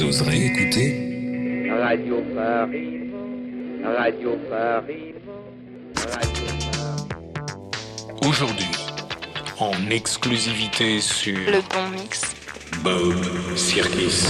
Vous oserez écouter Radio Paris, Radio Paris, Radio Paris. Aujourd'hui, en exclusivité sur Le Bon Mix. Bob Sirkis.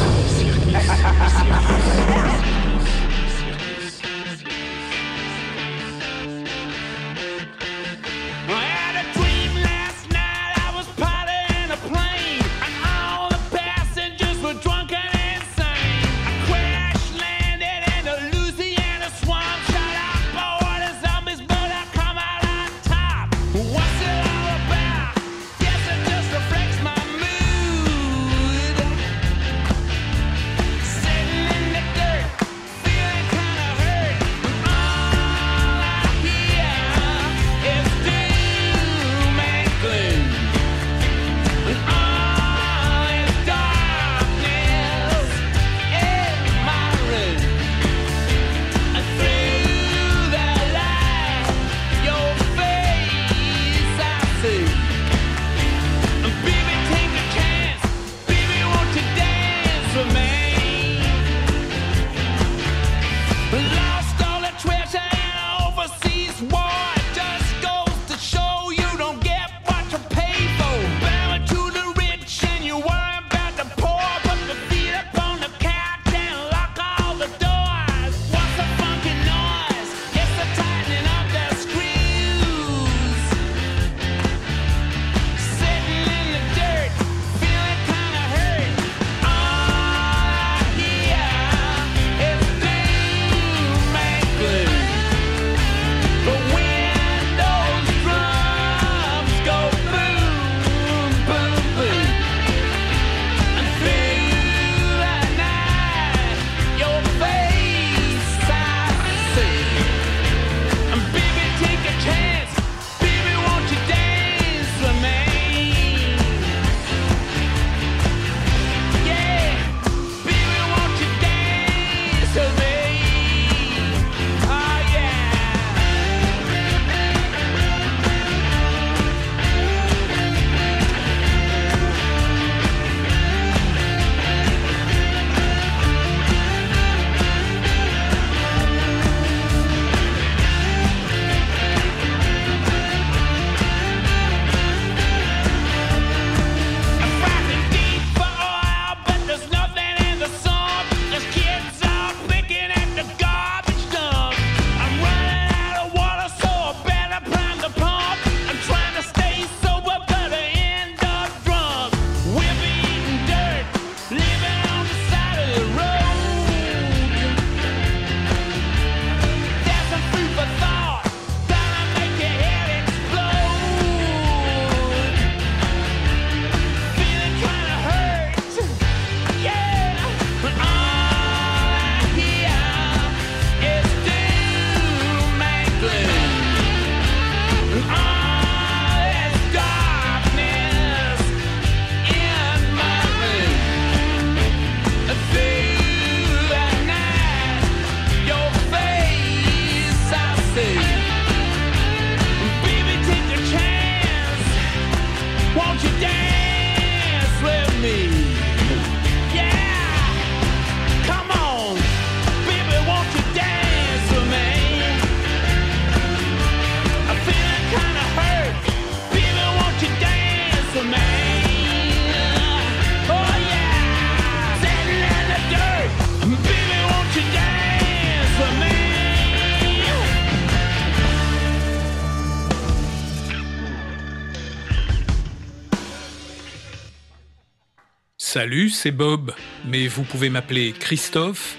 Salut, c'est Bob, mais vous pouvez m'appeler Christophe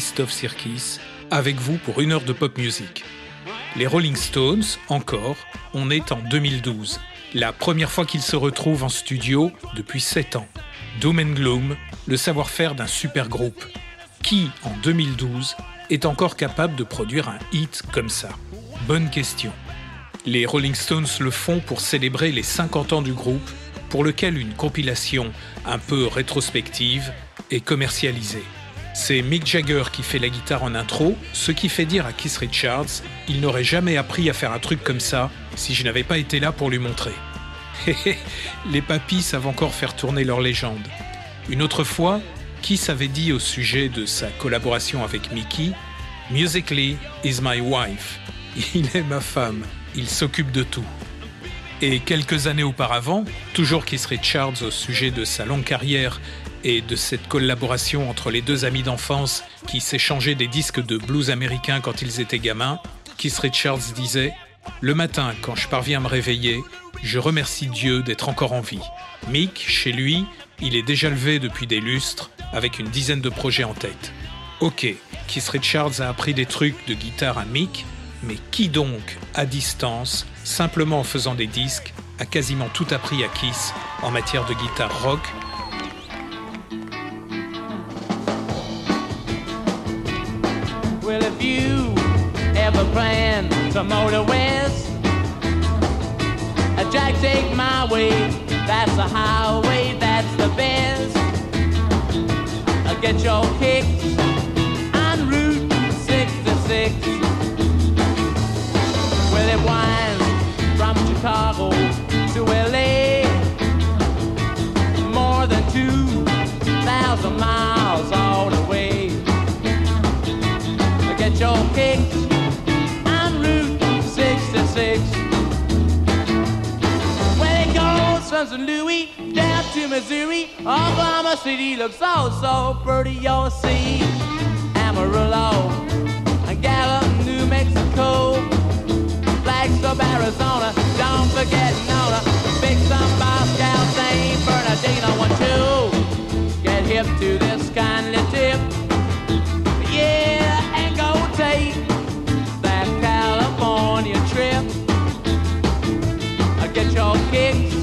Sirkis, avec vous pour 1 heure de pop music. Les Rolling Stones, encore, on est en 2012, la première fois qu'ils se retrouvent en studio depuis 7 ans. Doom and Gloom, le savoir-faire d'un super groupe. Qui, en 2012, est encore capable de produire un hit comme ça ? Bonne question. Les Rolling Stones le font pour célébrer les 50 ans du groupe, pour lequel une compilation un peu rétrospective est commercialisée. C'est Mick Jagger qui fait la guitare en intro, ce qui fait dire à Keith Richards « Il n'aurait jamais appris à faire un truc comme ça si je n'avais pas été là pour lui montrer. » Les papis savent encore faire tourner leur légende. Une autre fois, Kiss avait dit au sujet de sa collaboration avec Mickey « Musically is my wife ». Il est ma femme, il s'occupe de tout. Et quelques années auparavant, toujours Keith Richards au sujet de sa longue carrière et de cette collaboration entre les deux amis d'enfance qui s'échangeaient des disques de blues américains quand ils étaient gamins, Keith Richards disait « Le matin, quand je parviens à me réveiller, je remercie Dieu d'être encore en vie. » Mick, chez lui, il est déjà levé depuis des lustres avec une dizaine de projets en tête. Ok, Keith Richards a appris des trucs de guitare à Mick, mais qui donc, à distance, simplement en faisant des disques, a quasiment tout appris à Kiss en matière de guitare rock? Well, if you ever plan to motor west, Jack, take my way, that's the highway, that's the best. I'll get your kicks on Route 66. Well, it winds from Chicago to LA, more than 2,000 miles all the way. I'll get your kicks on Route 66. From St. Louis down to Missouri, Oklahoma City looks so pretty. You'll see Amarillo and Gallup, New Mexico, Flagstaff, Arizona. Don't forget Nona, Big Sun, Moscow, St. Bernardino. I want to get hip to this kindly tip, yeah, and go take that California trip. I get your kicks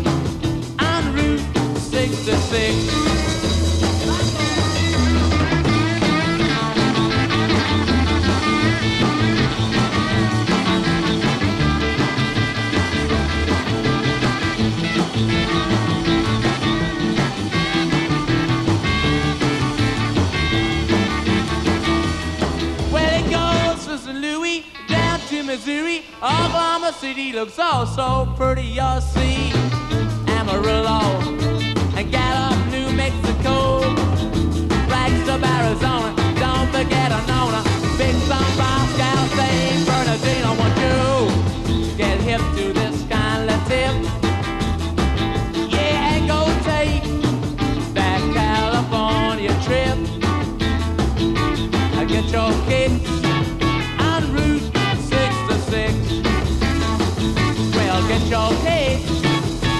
66. Well, it goes from St. Louis down to Missouri, Oklahoma City looks so pretty. You'll see Amarillo and Gallup, New Mexico, Flagstaff, Arizona. Don't forget Nona, Big Sun, Moscow, St. Bernardino. I want you to get hip to this kind of tip, yeah, and go take that California trip. I get your kicks on Route 66. Well, get your kicks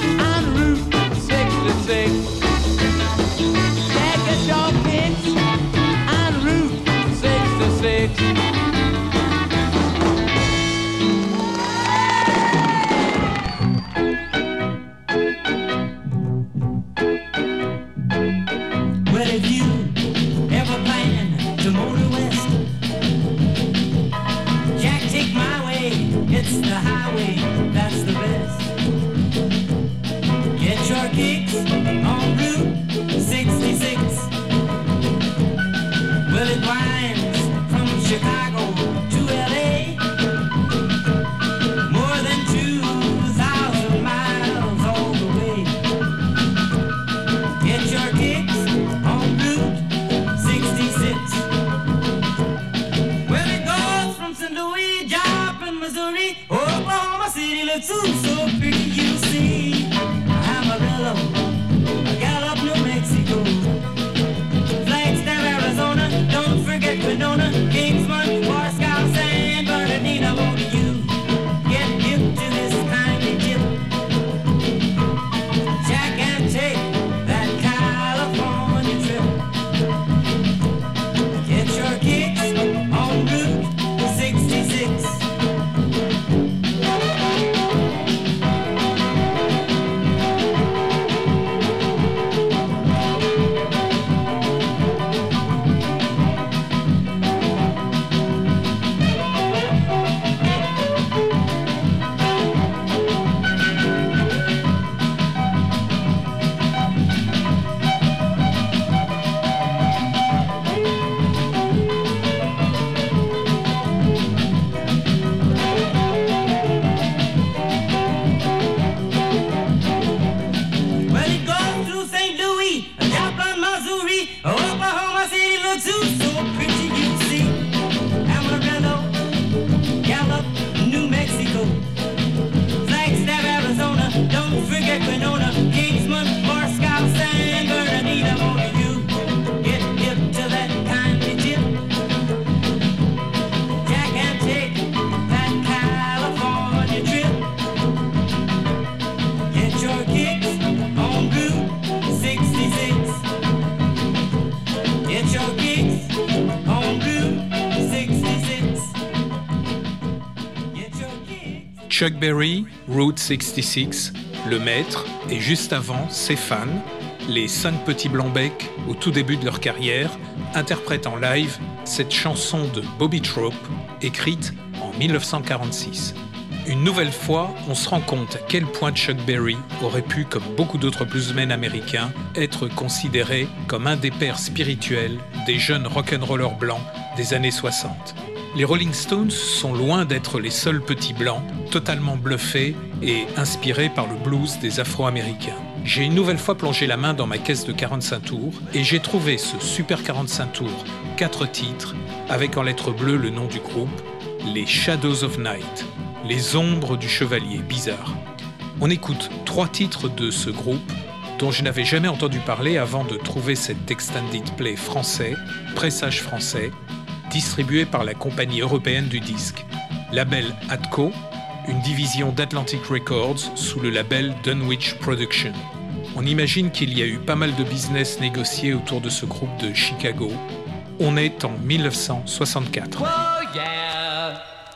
Chuck Berry, Route 66, Le Maître, et juste avant, ses fans, les 5 petits blancs-becs au tout début de leur carrière, interprètent en live cette chanson de Bobby Trope, écrite en 1946. Une nouvelle fois, on se rend compte à quel point Chuck Berry aurait pu, comme beaucoup d'autres bluesmen américains, être considéré comme un des pères spirituels des jeunes rock'n'rollers blancs des années 60. Les Rolling Stones sont loin d'être les seuls petits blancs, totalement bluffés et inspirés par le blues des Afro-Américains. J'ai une nouvelle fois plongé la main dans ma caisse de 45 tours et j'ai trouvé ce super 45 tours, 4 titres, avec en lettres bleues le nom du groupe, les Shadows of Night, les ombres du chevalier, bizarre. On écoute 3 titres de ce groupe dont je n'avais jamais entendu parler avant de trouver cet extended play français, pressage français, distribué par la compagnie européenne du disque, label Atco, une division d'Atlantic Records sous le label Dunwich Production. On imagine qu'il y a eu pas mal de business négocié autour de ce groupe de Chicago. On est en 1964. Oh yeah.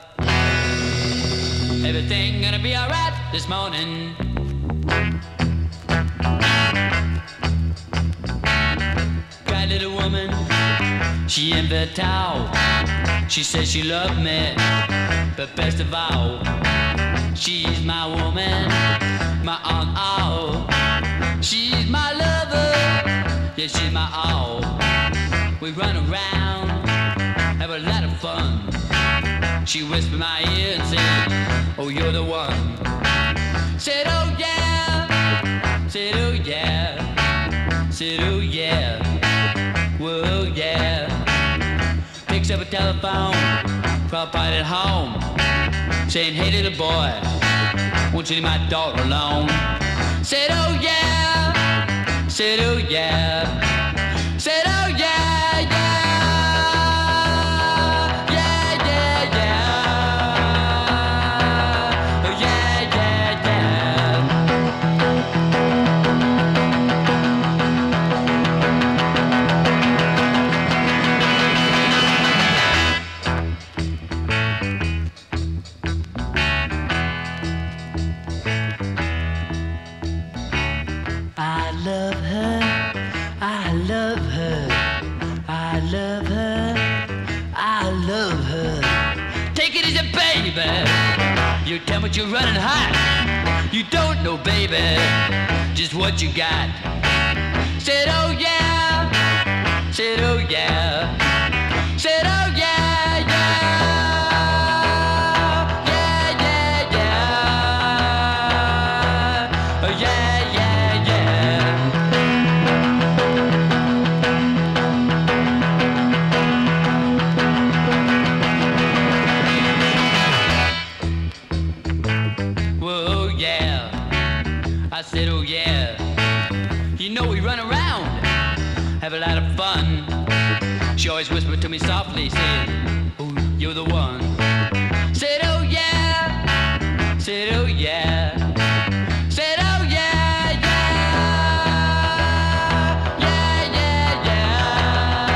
Everything gonna be alright this morning. Got a little woman, she in the towel. She says she loved me, but best of all, she's my woman, my all. She's my lover, yeah, she's my all. We run around, have a lot of fun. She whispered in my ear and said, oh, you're the one. Said, oh yeah, said, oh yeah, said, oh yeah, whoa yeah. Picks up a telephone, call pilot home, saying, hey little boy, won't you leave my daughter alone? Said, oh yeah, said, oh yeah, said, oh yeah, yeah. You tell me you're running hot. You don't know, baby, just what you got. Said, oh yeah. Said, oh yeah. Said, oh yeah, yeah. Yeah, yeah, yeah. Oh yeah, yeah, yeah. Whoa, yeah. I said, oh yeah. You know we run around, have a lot of fun. She always whispered to me softly, said, oh, you're the one. Said, oh yeah. Said, oh yeah. Said, oh yeah, yeah. Yeah, yeah, yeah.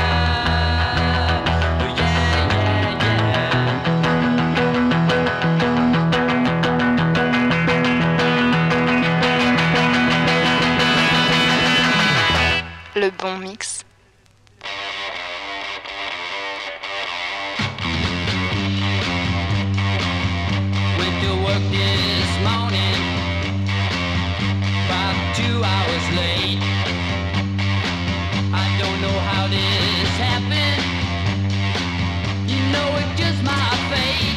Oh yeah, yeah, yeah. Le bon mix. This morning, about 2 hours late. I don't know how this happened. You know it's just my fate.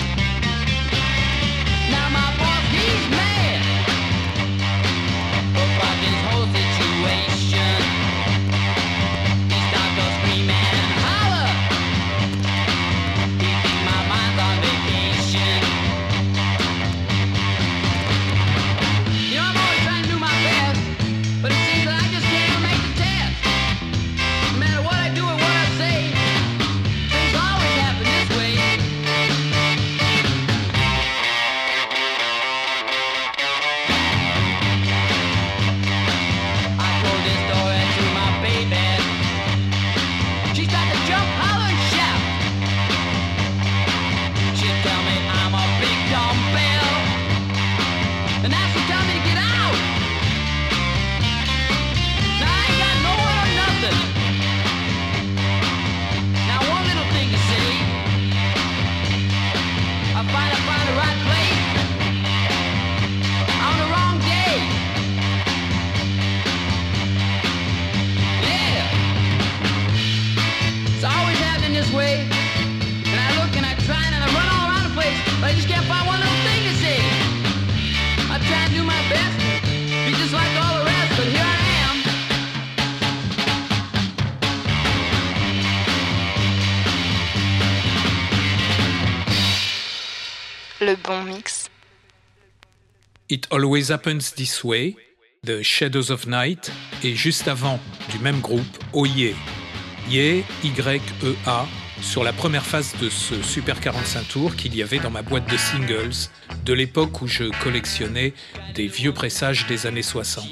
Now my boss, he's mad about this whole situation. do my best to be just like all the rest, but here I am. Le bon mix. It Always Happens This Way, The Shadows of Night, et juste avant, du même groupe, Oh Yeah. Yeah, Y-E-A, sur la première phase de ce Super 45 tours qu'il y avait dans ma boîte de singles, de l'époque où je collectionnais des vieux pressages des années 60.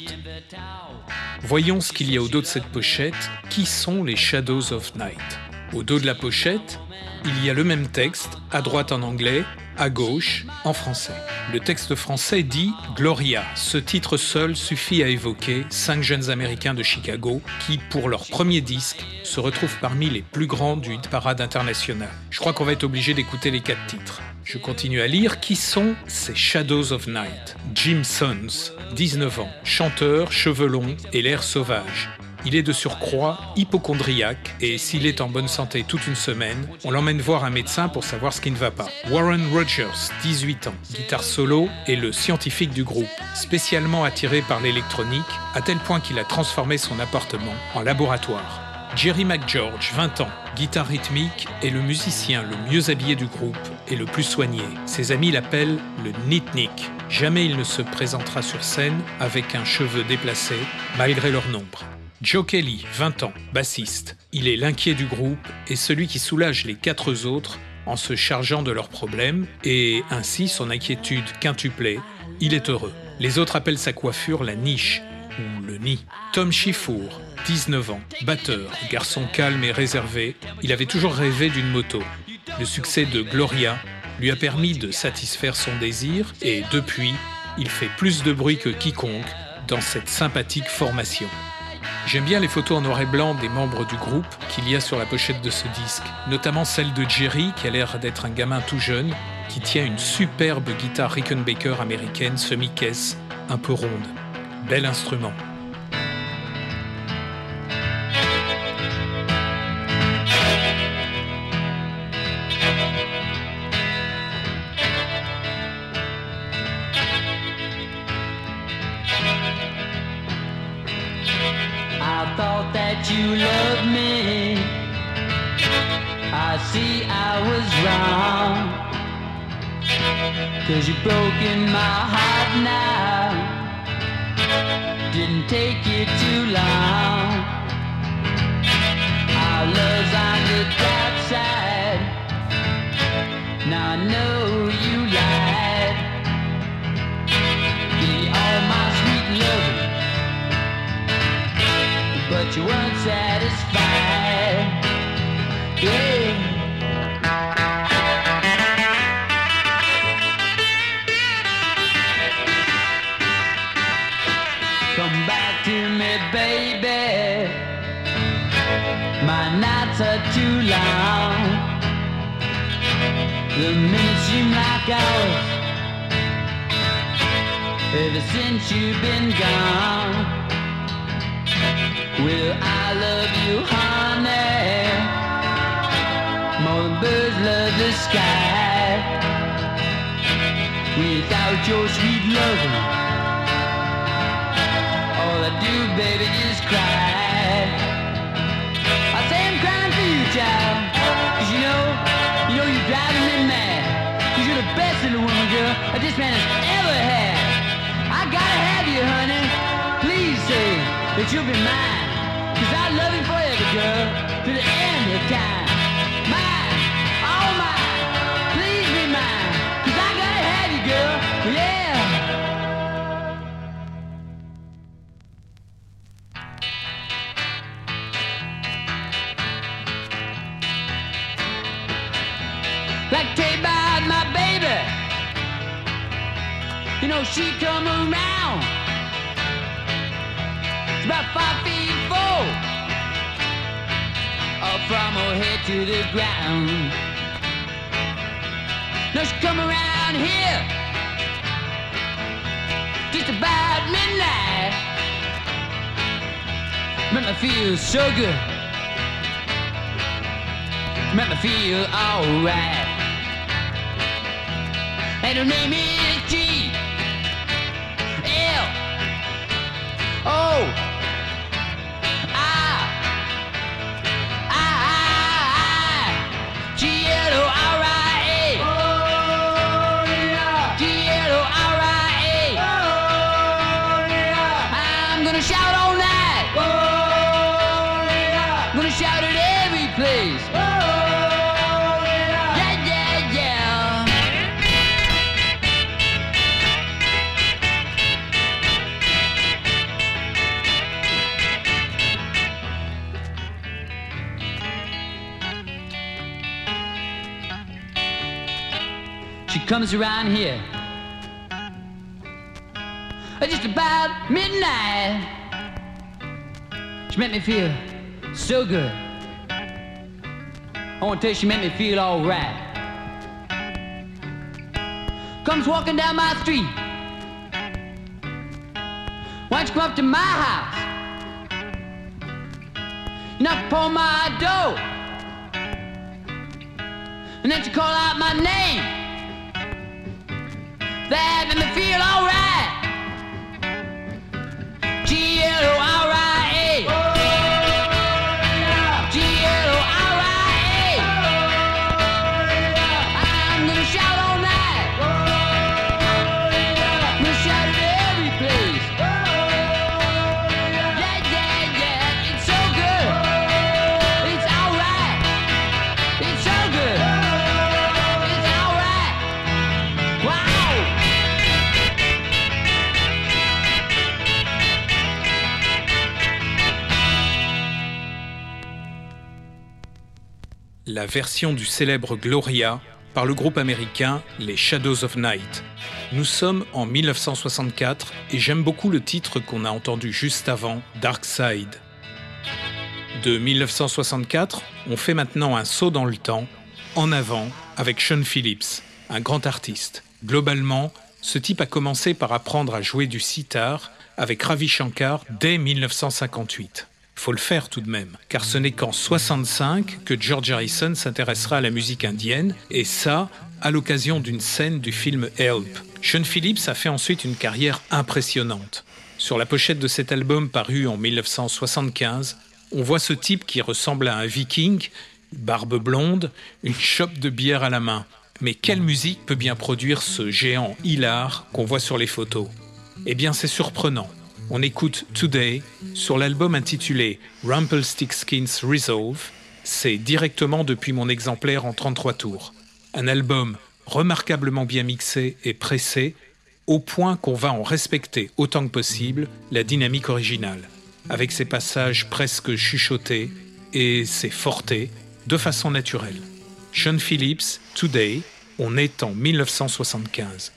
Voyons ce qu'il y a au dos de cette pochette. Qui sont les Shadows of Night ? Au dos de la pochette, il y a le même texte, à droite en anglais, à gauche en français. Le texte français dit « Gloria ». Ce titre seul suffit à évoquer 5 jeunes Américains de Chicago qui, pour leur premier disque, se retrouvent parmi les plus grands du hit parade international. Je crois qu'on va être obligé d'écouter les 4 titres. Je continue à lire. Qui sont ces Shadows of Night ? Jim Sons, 19 ans, chanteur, cheveux longs et l'air sauvage. Il est de surcroît hypocondriaque et s'il est en bonne santé toute une semaine, on l'emmène voir un médecin pour savoir ce qui ne va pas. Warren Rogers, 18 ans, guitare solo, est le scientifique du groupe, spécialement attiré par l'électronique, à tel point qu'il a transformé son appartement en laboratoire. Jerry McGeorge, 20 ans, guitare rythmique, est le musicien le mieux habillé du groupe et le plus soigné. Ses amis l'appellent le Nitnik. Jamais il ne se présentera sur scène avec un cheveu déplacé, malgré leur nombre. Joe Kelly, 20 ans, bassiste. Il est l'inquiet du groupe et celui qui soulage les 4 autres en se chargeant de leurs problèmes et ainsi son inquiétude quintuplée, il est heureux. Les autres appellent sa coiffure la niche ou le nid. Tom Schiffour, 19 ans, batteur, garçon calme et réservé, il avait toujours rêvé d'une moto. Le succès de Gloria lui a permis de satisfaire son désir et depuis, il fait plus de bruit que quiconque dans cette sympathique formation. J'aime bien les photos en noir et blanc des membres du groupe qu'il y a sur la pochette de ce disque, notamment celle de Jerry qui a l'air d'être un gamin tout jeune qui tient une superbe guitare Rickenbacker américaine semi-caisse, un peu ronde. Bel instrument. I thought that you loved me. I see I was wrong. 'Cause you've broken my heart now. Didn't take you too long. Our love's on the dark side. Now I know you lied. Give you all my sweet love, but you weren't satisfied. Yeah. Come back to me, baby. My nights are too long. The minutes seem like hours ever since you've been gone. Well, I love you, honey, more than birds love the sky. Without your sweet loving, all I do, baby, is cry. I say I'm crying for you, child, 'cause you know you're driving me mad. 'Cause you're the best little woman, girl, that this man has ever had. I gotta have you, honey. Please say that you'll be mine. 'Cause I love you forever, girl, to the end of time. Mine, all mine, please be mine. 'Cause I gotta have you, girl, yeah. Like tell about my baby, you know she come around. She's about 5'4", up from her head to the ground. Now she come around here just about midnight. Make me feel so good. Make me feel alright. And her name is G. comes around here just about midnight. She made me feel so good. I want to tell you, she made me feel all right. Comes walking down my street. Why don't you come up to my house? You knock upon my door, and then you call out my name. That made me feel all right. G-L-O-R-I-A. G-L-O-R-I-A. I'm gonna shout all night. I'm gonna shout it every place. Yeah, yeah, yeah, it's so good. It's alright. It's so good. It's alright. Wow. La version du célèbre Gloria par le groupe américain les Shadows of Night. Nous sommes en 1964 et j'aime beaucoup le titre qu'on a entendu juste avant, Dark Side. De 1964, on fait maintenant un saut dans le temps, en avant, avec Sean Phillips, un grand artiste. Globalement, ce type a commencé par apprendre à jouer du sitar avec Ravi Shankar dès 1958. Faut le faire tout de même, car ce n'est qu'en 65 que George Harrison s'intéressera à la musique indienne, et ça, à l'occasion d'une scène du film Help. Sean Phillips a fait ensuite une carrière impressionnante. Sur la pochette de cet album paru en 1975, on voit ce type qui ressemble à un viking, barbe blonde, une chope de bière à la main. Mais quelle musique peut bien produire ce géant hilar qu'on voit sur les photos ? Eh bien, c'est surprenant. On écoute Today sur l'album intitulé Rumpelstiltskin's Resolve. C'est directement depuis mon exemplaire en 33 tours. Un album remarquablement bien mixé et pressé, au point qu'on va en respecter autant que possible la dynamique originale, avec ses passages presque chuchotés et ses fortés de façon naturelle. Sean Phillips, Today, on est en 1975.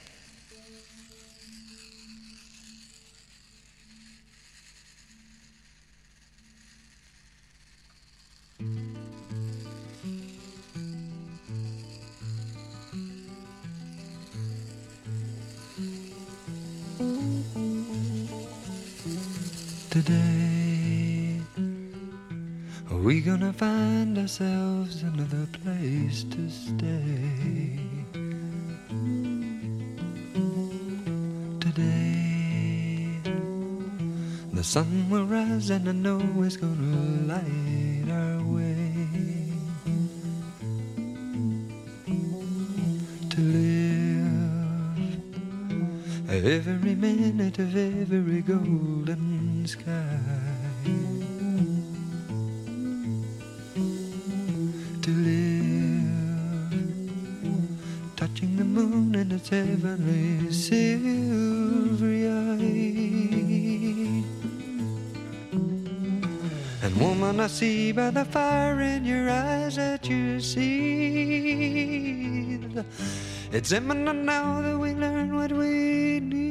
Today, are we gonna find ourselves another place to stay? Today, the sun will rise and I know it's gonna light our way. To live every minute of every golden sky, to live touching the moon and its heavenly silvery eye. And woman, I see by the fire in your eyes that you see it's imminent now that we learn what we need.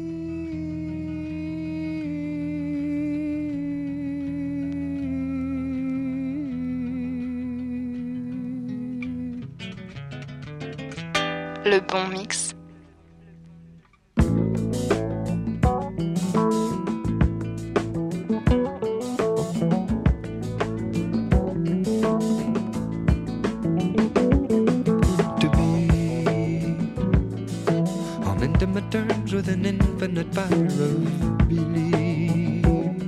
Le bon mix. Intimate terms with an infinite fire of belief.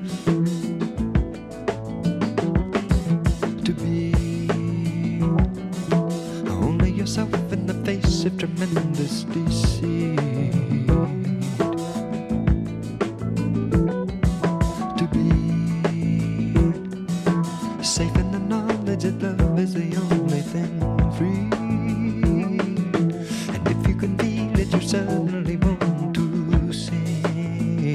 To be only yourself in the face of tremendous deceit. To be safe in the knowledge that love is the only thing free. And if you can feel it yourself, want to sing.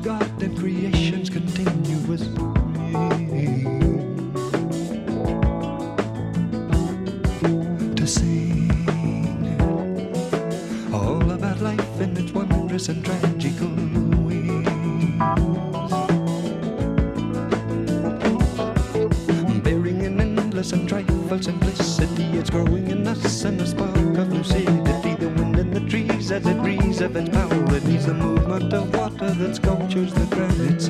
God and creation's continuous to sing all about life and its wondrous and tragical wings, bearing in endless and trifle simplicity. It's growing in us and a spark of lucidity. The wind in the trees as it breathes of its melodies, the movement of water that sculptures the granite's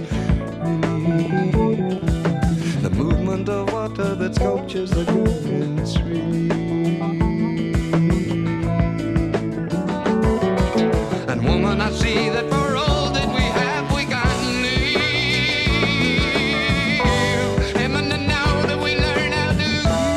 reef, the movement of water that sculptures the granite's reef. And woman, I see that for all that we have, we got need. And now that we learn how to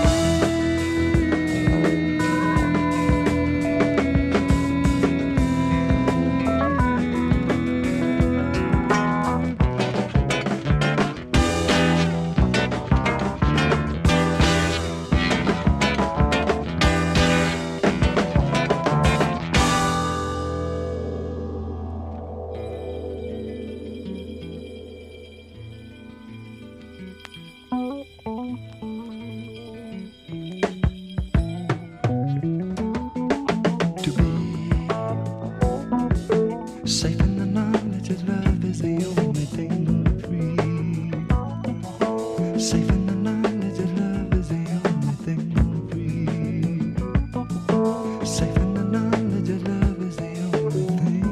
safe in the knowledge that love is the only thing free. Safe in the knowledge that love is the only thing free. Safe in the knowledge that love is the only thing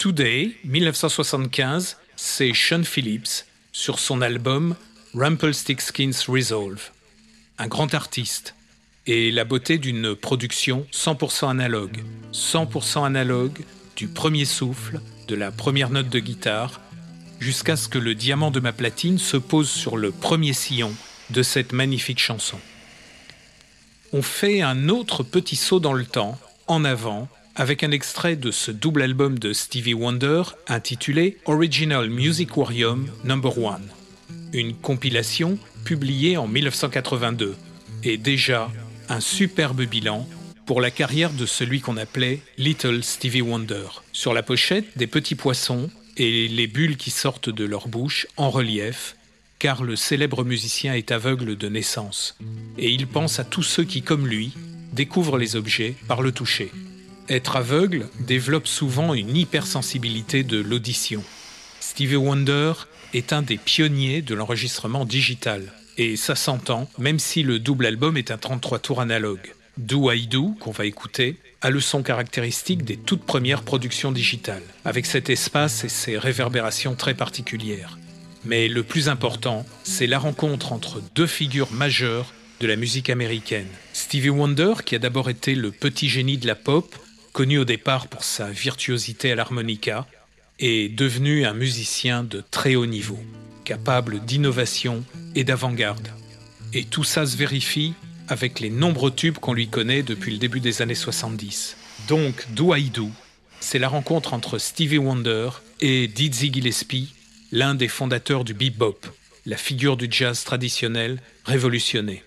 Today, 1975, c'est Sean Phillips sur son album Rumpelstiltskin's Resolve. Un grand artiste et la beauté d'une production 100% analogue. 100% analogue du premier souffle, de la première note de guitare, jusqu'à ce que le diamant de ma platine se pose sur le premier sillon de cette magnifique chanson. On fait un autre petit saut dans le temps, en avant, avec un extrait de ce double album de Stevie Wonder intitulé Original Musicorium No. 1, une compilation publiée en 1982 et déjà un superbe bilan pour la carrière de celui qu'on appelait Little Stevie Wonder. Sur la pochette, des petits poissons et les bulles qui sortent de leur bouche en relief, car le célèbre musicien est aveugle de naissance et il pense à tous ceux qui, comme lui, découvrent les objets par le toucher. Être aveugle développe souvent une hypersensibilité de l'audition. Stevie Wonder est un des pionniers de l'enregistrement digital. Et ça s'entend, même si le double album est un 33 tours analogue. Do I Do, qu'on va écouter, a le son caractéristique des toutes premières productions digitales, avec cet espace et ses réverbérations très particulières. Mais le plus important, c'est la rencontre entre deux figures majeures de la musique américaine. Stevie Wonder, qui a d'abord été le petit génie de la pop, connu au départ pour sa virtuosité à l'harmonica, est devenu un musicien de très haut niveau, capable d'innovation et d'avant-garde. Et tout ça se vérifie avec les nombreux tubes qu'on lui connaît depuis le début des années 70. Donc, Do I Do, c'est la rencontre entre Stevie Wonder et Dizzy Gillespie, l'un des fondateurs du bebop, la figure du jazz traditionnel révolutionné.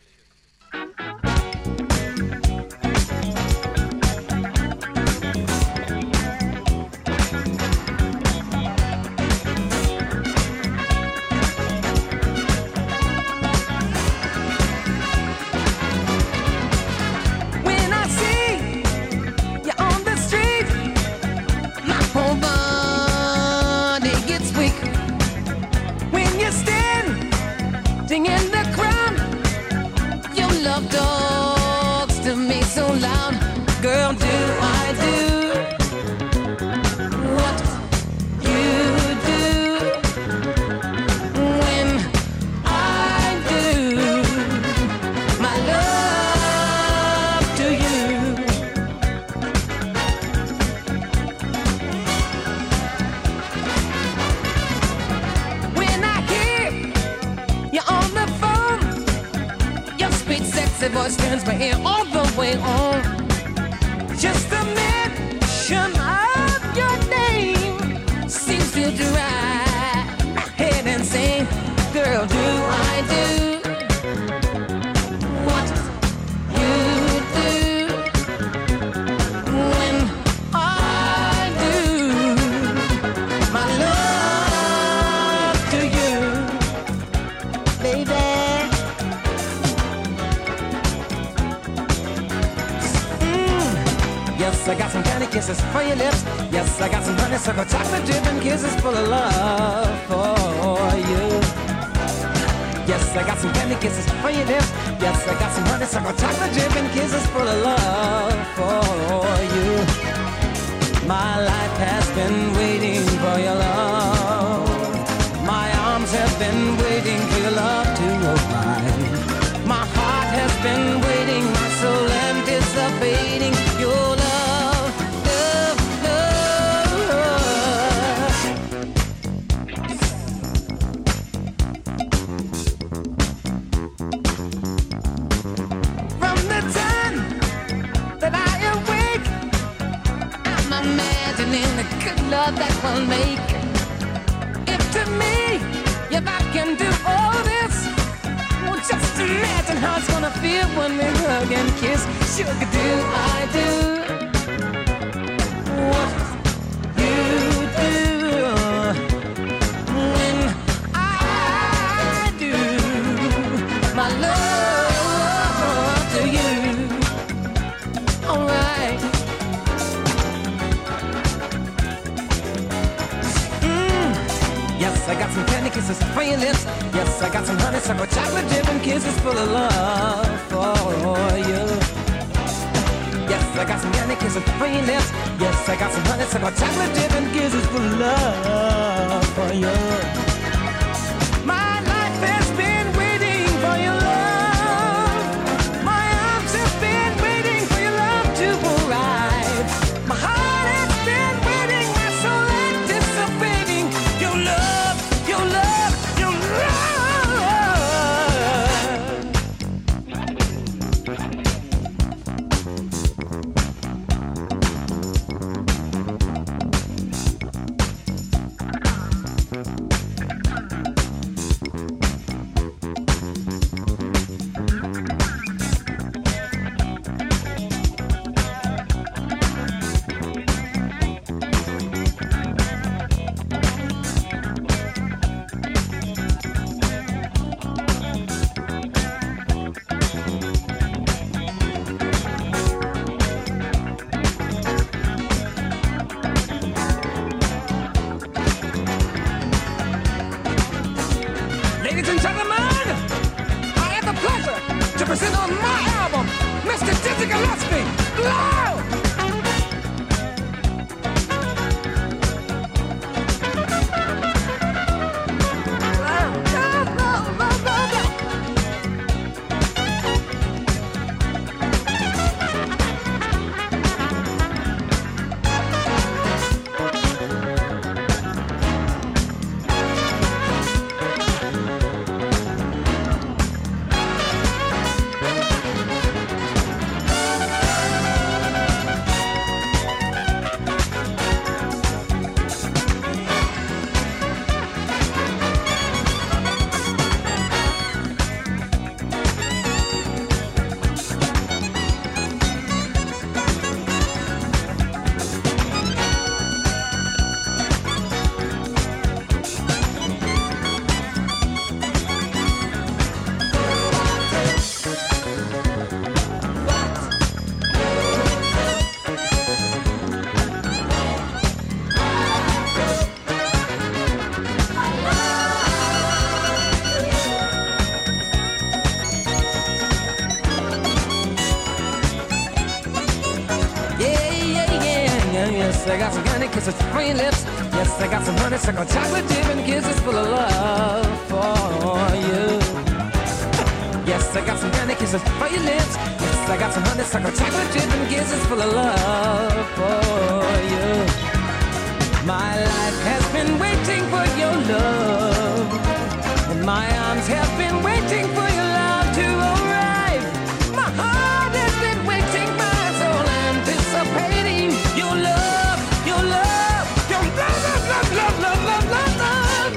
Voice turns my ear all the way on. Just a mention of your name seems to drive my head insane. Girl, do I do what you do when I do my love to you, baby? Yes, I got some candy kisses for your lips. Yes, I got some honeysuckle chocolate dripping kisses full of love for you. Yes, I got some candy kisses for your lips. Yes, I got some honeysuckle chocolate dripping kisses full of love for you. My life has been waiting for your love. My arms have been waiting for your love to open. My heart has been waiting, my soul anticipating your love. Love that will make. If to me, if I can do all this, well, just imagine how it's gonna feel when we hug and kiss. Sugar, do I do what you do when I do my love to you? All right. Yes, I got some candy kisses for your lips. Yes, I got some honeysuckle chocolate dripping kisses full of love for you. Yes, I got some candy kisses for your lips. Yes, I got some honeysuckle chocolate dip and kisses for love for you. My life has been waiting for your love. My arms have been waiting for your love to arrive. My heart has been waiting, my soul anticipating your love, your love, your love. Ladies and gentlemen, I have the pleasure to present on my album, Mr. Dizzy Gillespie, Loud! Yes, I got some candy kisses for your lips. Yes, I got some honeysuckle chocolate dip and kisses full of love for you. Yes, I got some candy kisses for your lips. Yes, I got some honeysuckle chocolate dip and kisses full of love for you. My life has been waiting for your love, and my arms have been waiting for your love to arrive. My heart has been waiting, my soul anticipating your love, your love, your love, love, love, love, love, love, love.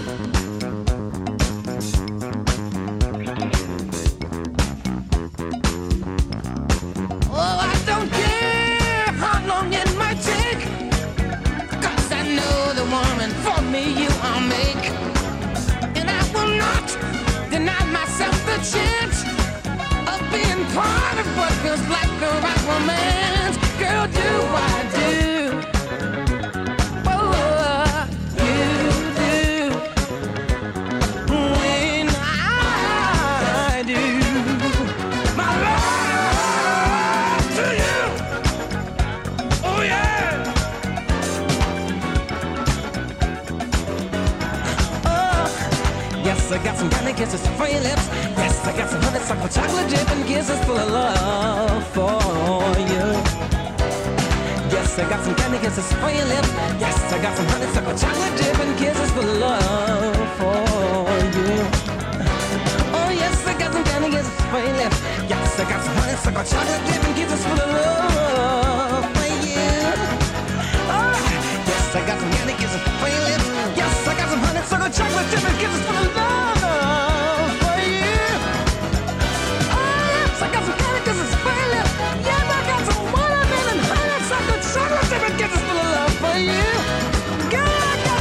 Oh, I don't care how long it might take, 'cause I know the woman for me you I'll make. And I will not deny myself the chance of being part of what feels like the right romance. Girl, do I do? Oh, you do. When I do my love to you. Oh, yeah. Yes, I got some candy kisses for your lips. Yes, I got some honeysuckle chocolate dip and kisses full of love for you. Yes, I got some candy kisses for your lips. Yes, I got some honeysuckle chocolate dip and kisses full of love for you. Oh, yes, I got some candy kisses for your lips. Yes, I got some honeysuckle chocolate dip and kisses full of love for you. Oh, yes, I got some candy kisses for your lips. Yes, I got some honeysuckle chocolate dip and kisses full of love for you. Oh, yes, I got some candy kisses for your lips. Yes, I got some watermelon and honeysuckle chocolate dip and kisses full of love for you. Girl, I got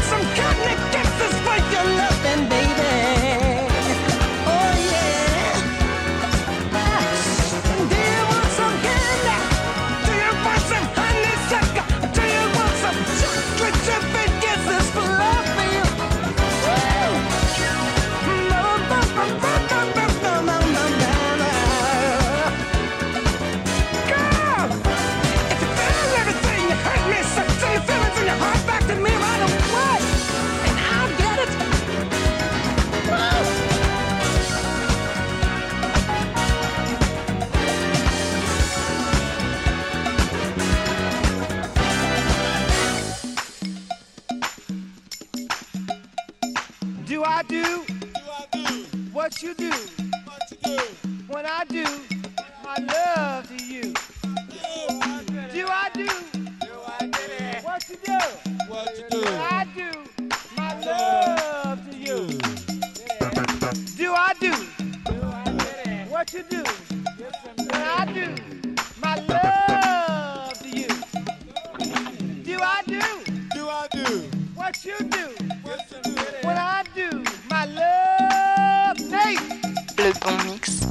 Do I do what you do? When I do my love to you. Do I do what you do? When I do my love to you. Do I do what you do? When I do my love to you. Do I do what you do? When I do my love, Nate. Le bon mix.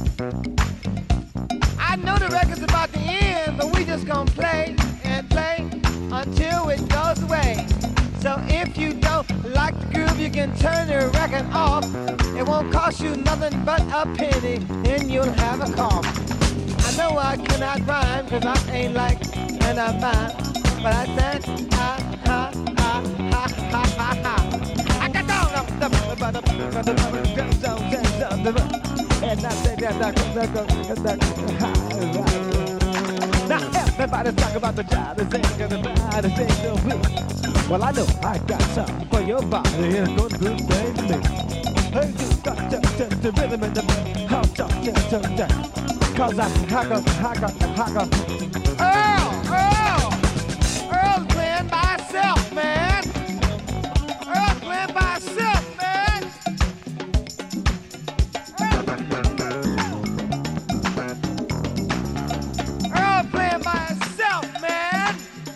I know the record's about to end, but we just gonna play and play until it goes away. So if you don't like the groove, you can turn the record off. It won't cost you nothing but a penny, and you'll have a cough. I know I cannot rhyme, cause I ain't like an a mime, but I said ha ha ha ha ha ha ha. I got down and I say that now everybody's talking about the job, everybody say no real. Well, I know I got something for your body, it's gonna do the same to me. Hey, you got the rhythm in the how cause I Earl's playing by himself, man. Earl's playing by himself, man. Earl playing by himself, man.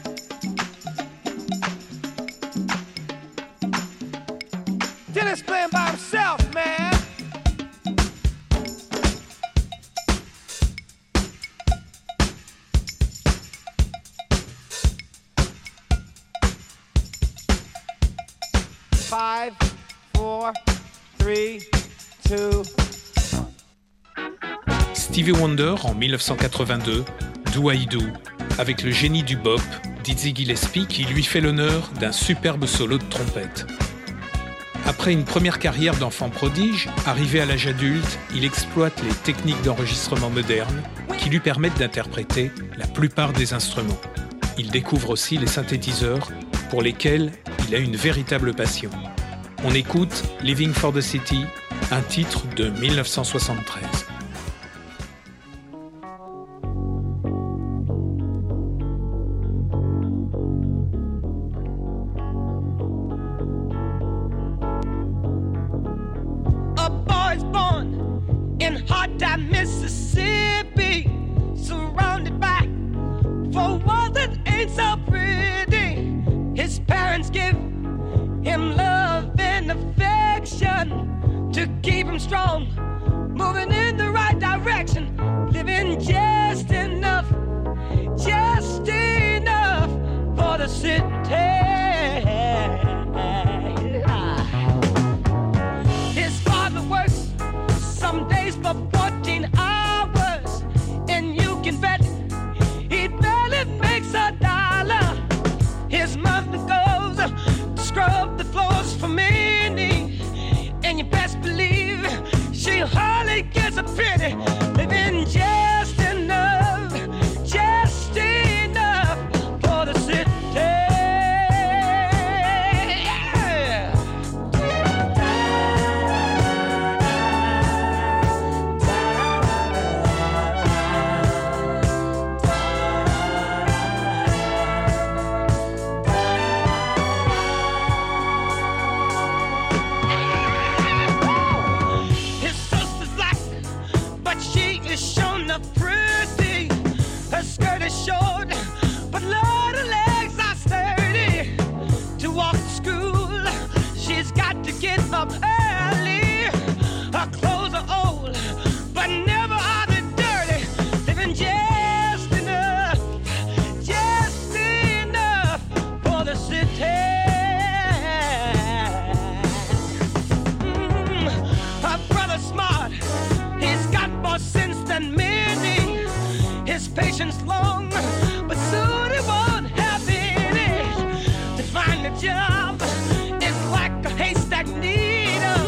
Dennis playing by himself, man. Five, 4, 3, 2. Stevie Wonder en 1982, Do I Do, avec le génie du bop, Dizzy Gillespie, qui lui fait l'honneur d'un superbe solo de trompette. Après une première carrière d'enfant prodige, arrivé à l'âge adulte, il exploite les techniques d'enregistrement modernes qui lui permettent d'interpréter la plupart des instruments. Il découvre aussi les synthétiseurs pour lesquels il a une véritable passion. On écoute Living for the City, un titre de 1973. A boy's born in hot time, Mississippi, surrounded by four walls that ain't so pretty. His parents give him love and affection to keep him strong, moving in the right direction, living just enough for the city. His father works some days for 14 hours, and you can bet he barely makes $1. His mother goes to scrub the floors for many, and you best believe she hardly gets a penny, living just enough for the city. Pretty, her skirt is short, but Lord, her legs are sturdy. To walk to school, she's got to get up early. Her clothes are old, but never are they dirty. Living just enough for the city. Her brother's smart, he's got more sense than me. His patience long, but soon he won't have any. To find a job is like a haystack needle.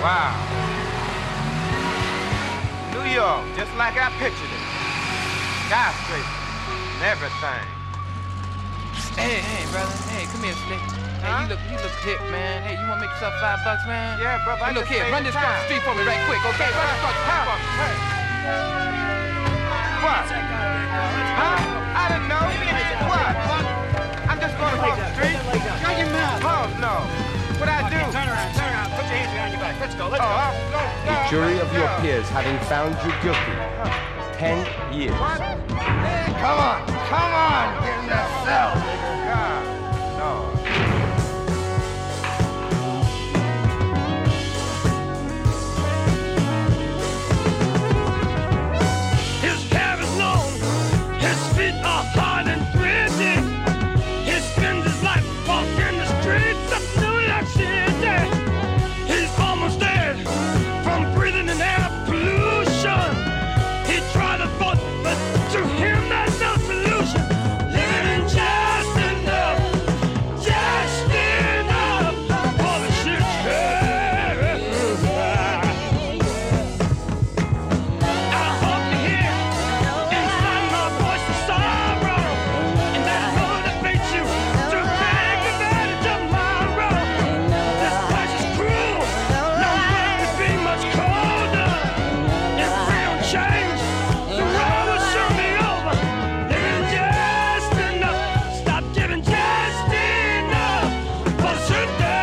Wow. New York, just like I pictured it. Skyscrapers and everything. Hey, brother. Hey, come here, Slick. Huh? Hey, you look hip, man. Hey, you wanna make yourself $5, man? Yeah, brother. Hey, look here, run this across the street for me right quick, okay? Run this across the street for me. Hey. What? Huh? I didn't know. What? I'm just going across the street. Shut your mouth. Oh, no. What'd I do? Turn around. Put your hands behind your back. Let's go. The jury of your peers having found you guilty. 10 years. What? Come on. Get in that cell. God, no. His hair is long, his feet are hard and gritty. He spends his life walking the streets of New York City. He's almost dead from breathing in air pollution. He tried to vote, but to him there's no solution. Living just enough for the shit. I hope to hear inside my voice the sorrow, and that motivates you to take advantage of my role. This place is cruel, no world could be much colder. If we don't change, the world will soon be over. Living just enough, stop giving just enough for the city.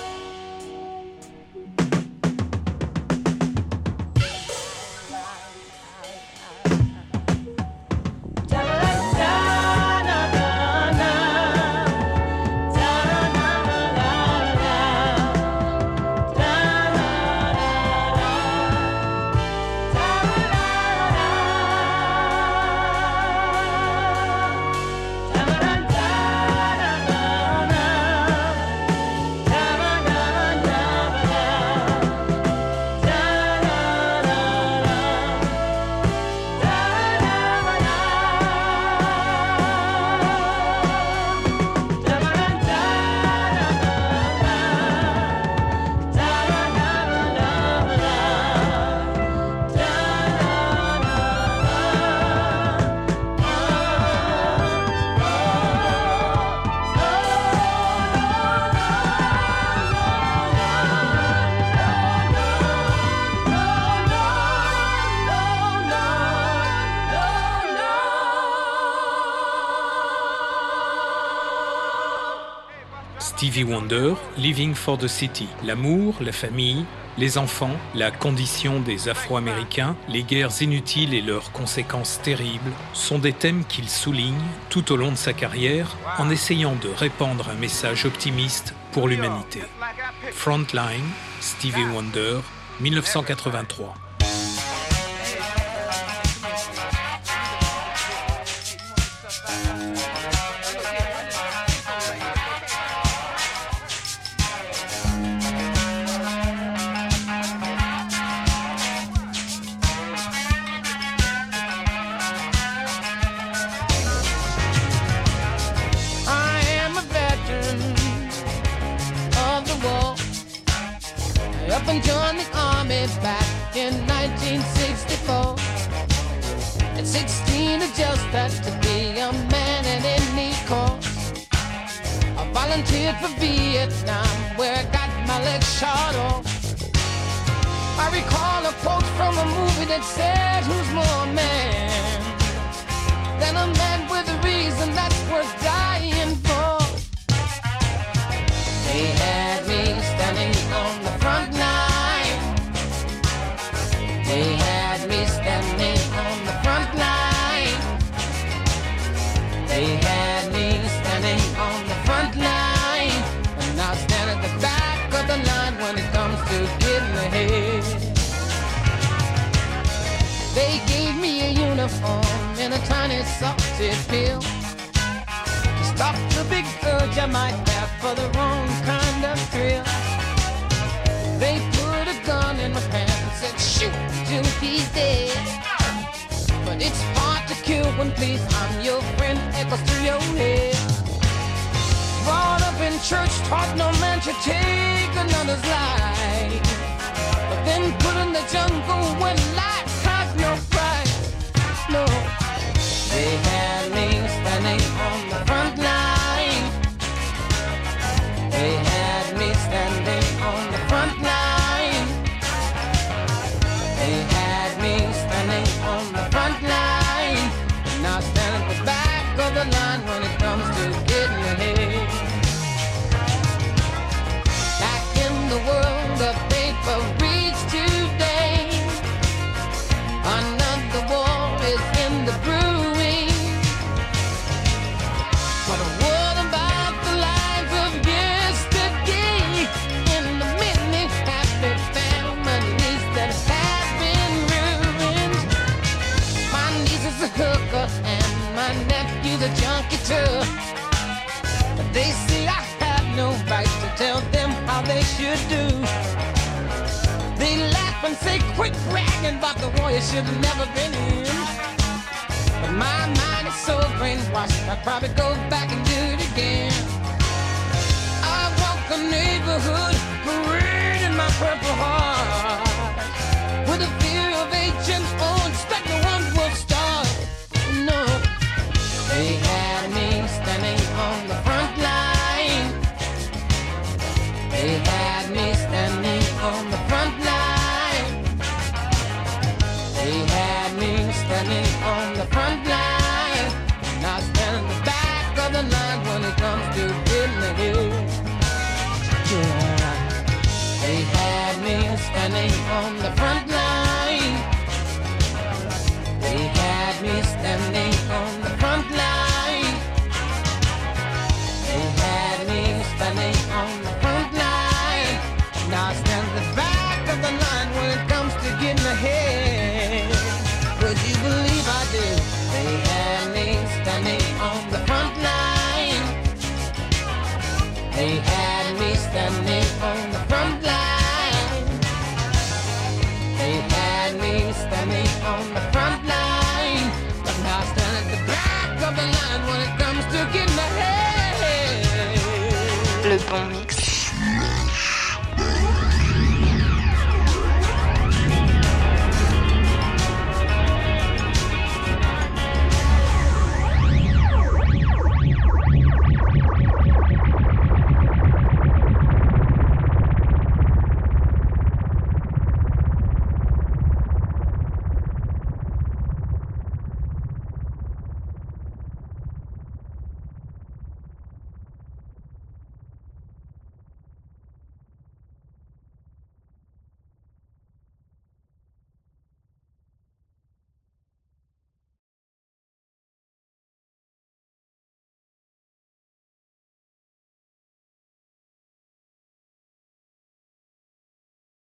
Stevie Wonder, Living for the City. L'amour, la famille, les enfants, la condition des Afro-Américains, les guerres inutiles et leurs conséquences terribles sont des thèmes qu'il souligne tout au long de sa carrière en essayant de répandre un message optimiste pour l'humanité. Frontline, Stevie Wonder, 1983. Up and joined the army back in 1964. At 16 I just had to be a man at any cost. I volunteered for Vietnam where I got my legs shot off. I recall a quote from a movie that said, who's more a man than a man with a reason that's worth dying for? They had me standing on the front line. They had me standing on the front line. They had me standing on the front line. And I stand at the back of the line when it comes to getting ahead. They gave me a uniform and a tiny sausage pill. Stop the big urge I might have for the wrong kind of thrill. They put a gun in my hand and said, shoot till he's dead. But it's hard to kill when please I'm your friend echoes through your head. Brought up in church, taught no man should take another's life. the jungle when life has no price. No, they had me standing on the front line. They had me standing on the front line. They had me standing on the front line. Now stand at the back of the line when it comes to getting ahead. Back in the world of paper reads today, another war is in the brewing. But what about the lives of yesterday in the many happy families that have been ruined? My niece is a hooker and my nephew's a junkie too. But they say I have no right to tell them how they should do. They laugh and say, quit bragging about the war you should have never been in. But my mind is so brainwashed, I'd probably go back and do it again. I walk the neighborhood, parade in my purple heart, with a fear of agents, oh, expect no one will start. No, they had me standing on the front line. They had me standing on the front line. They had me standing on the front line. Now stand in the back of the line when it comes to getting ahead. Yeah. They had me standing on the front line. They had me standing on the front line. They had me standing on the front line. Now stand at the back of the line when it comes to getting ahead. Would you believe I did? They had me standing on the front line. They had me standing on the front line. They had me standing on the front line. But now stand at the back of the line when it comes to getting ahead. Le bon mix.